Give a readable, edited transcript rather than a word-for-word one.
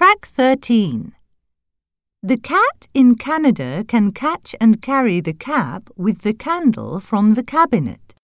Track 13. The cat in Canada can catch and carry the cap with the candle from the cabinet.